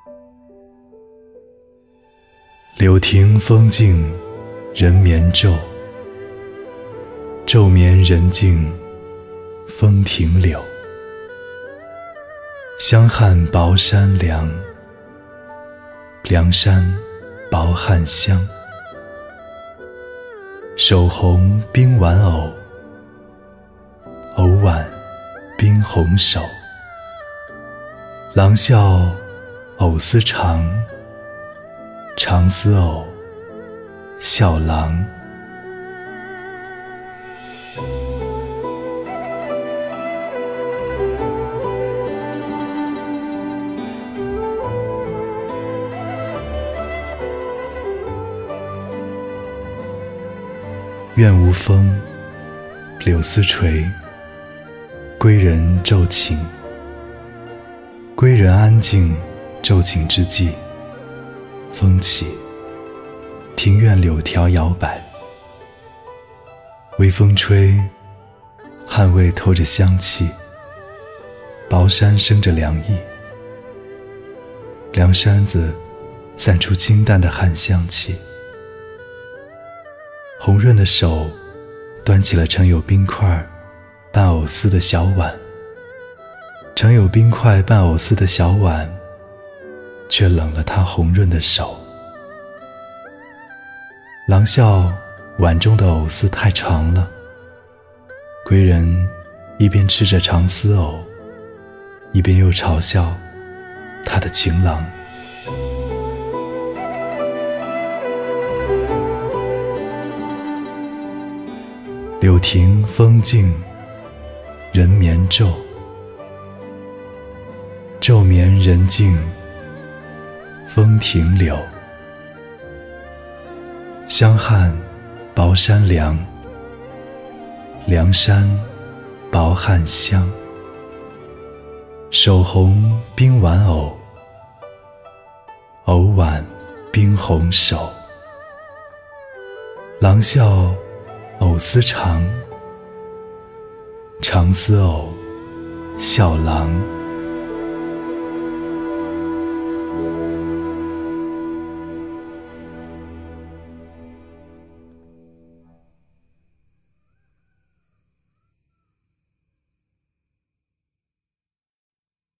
柳亭风静人眠昼，昼眠人静风停柳。香汉薄山凉，凉山薄汉香。手红冰玩偶，偶挽冰红手。郎笑藕丝长，长丝藕，笑郎。院无风，柳丝垂，归人骤寝。归人安静骤寝之际，风起，庭院柳条摇摆，微风吹，汗味透着香气，薄衫生着凉意，凉衫子散出清淡的汗香气。红润的手端起了盛有冰块拌藕丝的小碗，盛有冰块拌藕丝的小碗却冷了他红润的手。郎笑碗中的藕丝太长了，归人一边吃着长丝藕，一边又嘲笑他的情郎。柳亭风静人眠昼，昼眠人静风停柳。香汉薄山凉，凉山薄汉香。手红冰玩偶，偶挽冰红手。郎笑藕丝长，长丝藕，笑郎。